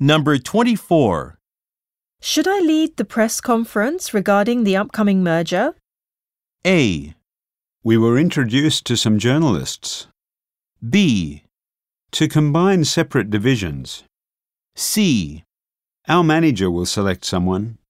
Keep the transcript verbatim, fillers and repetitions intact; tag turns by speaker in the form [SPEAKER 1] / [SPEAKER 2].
[SPEAKER 1] Number twenty-four.
[SPEAKER 2] Should I lead the press conference regarding the upcoming merger?
[SPEAKER 1] A.
[SPEAKER 3] We were introduced to some journalists.
[SPEAKER 1] B.
[SPEAKER 3] To combine separate divisions.
[SPEAKER 1] C.
[SPEAKER 3] Our manager will select someone.